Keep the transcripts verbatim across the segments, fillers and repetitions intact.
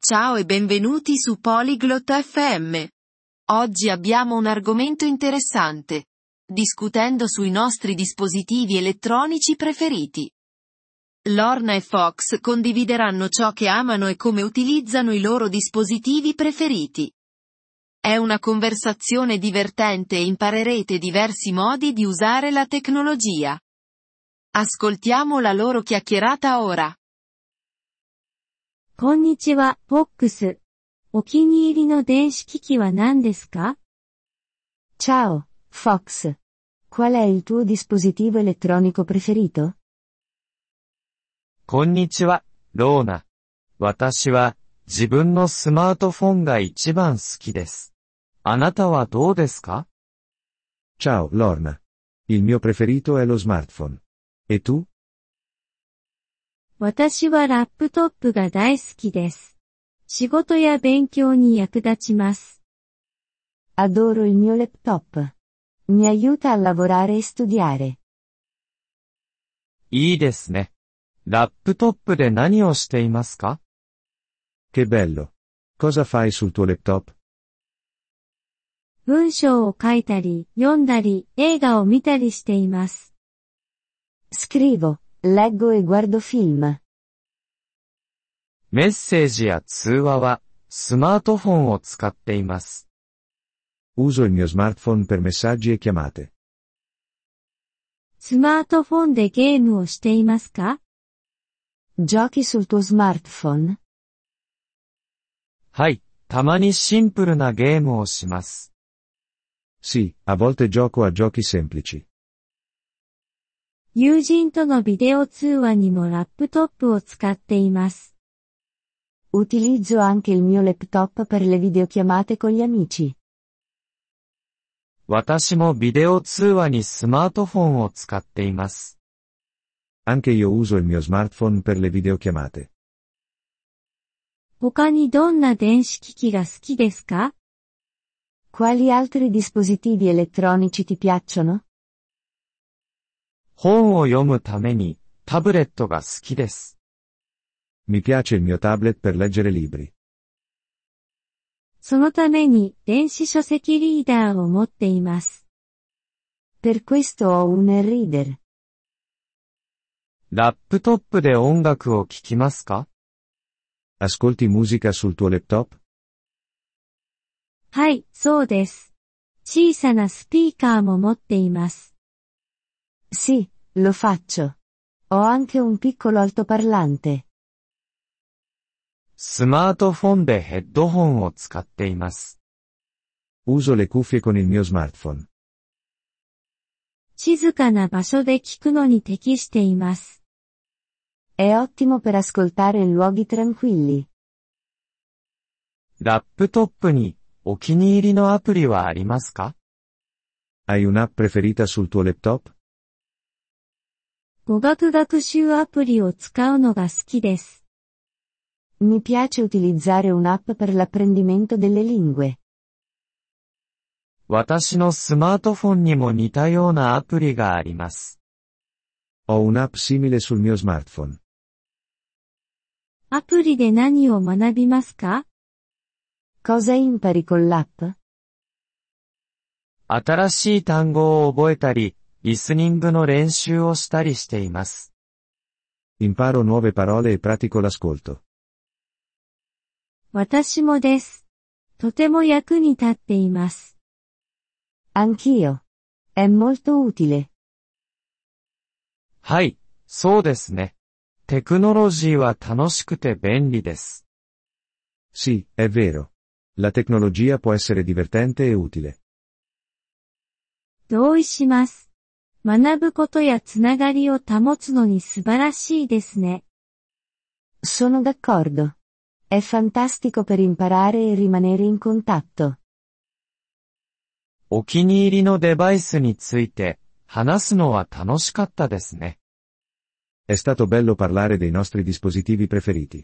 Ciao e benvenuti su Polyglot F M. Oggi abbiamo un argomento interessante. Discutendo sui nostri dispositivi elettronici preferiti. Lorna e Fox condivideranno ciò che amano e come utilizzano i loro dispositivi preferiti. È una conversazione divertente e imparerete diversi modi di usare la tecnologia. Ascoltiamo la loro chiacchierata ora. こんにちは、フォックス。お気に入りの電子機器は何ですか？ Ciao, Fox. Qual è il tuo dispositivo elettronico preferito? こんにちは、ローナ。私は、自分のスマートフォンが一番好きです。あなたはどうですか？ Ciao, Lorna. Il mio preferito è lo smartphone. E tu? 私はラップトップが大好きです。仕事や勉強に役立ちます。 Adoro il mio laptop. Mi aiuta a lavorare e studiare. いいですね。ラップトップで何をしていますか？ Che bello. Cosa fai sul tuo laptop? 文章を書いたり、読んだり、映画を見たりしています。 Scrivo, leggo e guardo film. メッセージや通話は、スマートフォンを使っています。 Uso il mio smartphone per messaggi e chiamate. スマートフォンでゲームをしていますか？ Giochi sul tuo smartphone? はい、たまにシンプルなゲームをします。 Sì, a volte gioco a giochi semplici. 友人とのビデオ通話にもラップトップを使っています。 Utilizzo anche il mio laptop per le videochiamate con gli amici. 私もビデオ通話にスマートフォンを使っています。 Anche io uso il mio smartphone per le videochiamate. 他にどんな電子機器が好きですか？ Quali altri dispositivi elettronici ti piacciono? 本を読むために、タブレットが好きです。 Mi piace il mio tablet per leggere libri. そのために電子書籍リーダーを持っています。 Per questo ho un e-reader. ラップトップで音楽を聴きますか？ Ascolti musica sul tuo laptop? はい、そうです。小さなスピーカーも持っています。 Sì, lo faccio. Ho anche un piccolo altoparlante. スマートフォンでヘッドホンを使っています。 Uso le cuffie con il mio smartphone. 静かな場所で聞くのに適しています。 È ottimo per ascoltare in luoghi tranquilli. ラップトップにお気に入りのアプリはありますか？ Hai un'app preferita sul tuo laptop? 語学学習アプリを使うのが好きです。 Mi piace utilizzare un'app per l'apprendimento delle lingue. 私のスマートフォンにも似たようなアプリがあります。 Ho un'app simile sul mio smartphone. アプリで何を学びますか？ Cosa impari con l'app? 新しい単語を覚えたり、リスニングの練習をしたりしています。 Imparo nuove parole e pratico l'ascolto. 私もです。とても役に立っています。 Anch'io. È molto utile. はい、そうですね。テクノロジーは楽しくて便利です。 Sì, è vero. La tecnologia può essere divertente e utile. 同意します。学ぶことやつながりを保つのに素晴らしいですね。 Sono d'accordo. È fantastico per imparare e rimanere in contatto. お気に入りのデバイスについて話すのは楽しかったですね。 È stato bello parlare dei nostri dispositivi preferiti.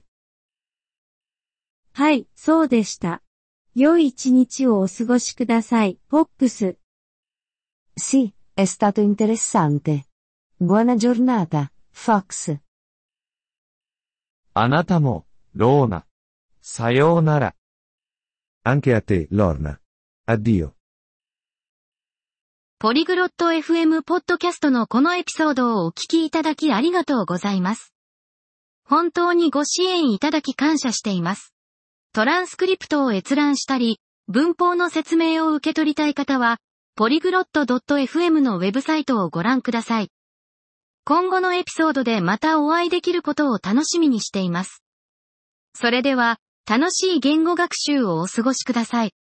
はい、そうでした。良い一日をお過ごしください、フォックス。 Sì, è stato interessante. Buona giornata, Fox. あなたも、ローナ。 さようなら。 Anche a te, Lorna. Addio. ポリグロット エフエム ポッドキャストのこのエピソードをお聞きいただきありがとうございます。本当にご支援いただき感謝しています。トランスクリプトを閲覧したり、文法の説明を受け取りたい方は、ポリグロット ドットエフエム のウェブサイトをご覧ください。今後のエピソードでまたお会いできることを楽しみにしています。それでは、楽しい言語学習をお過ごしください。